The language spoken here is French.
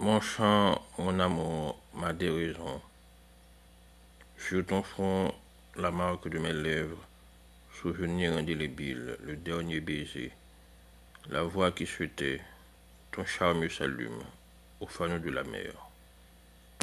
Mon chant, mon amour, ma déraison. Sur ton front, la marque de mes lèvres, souvenir indélébile, le dernier baiser, la voix qui se tait, ton charme s'allume au fanaux de la mer.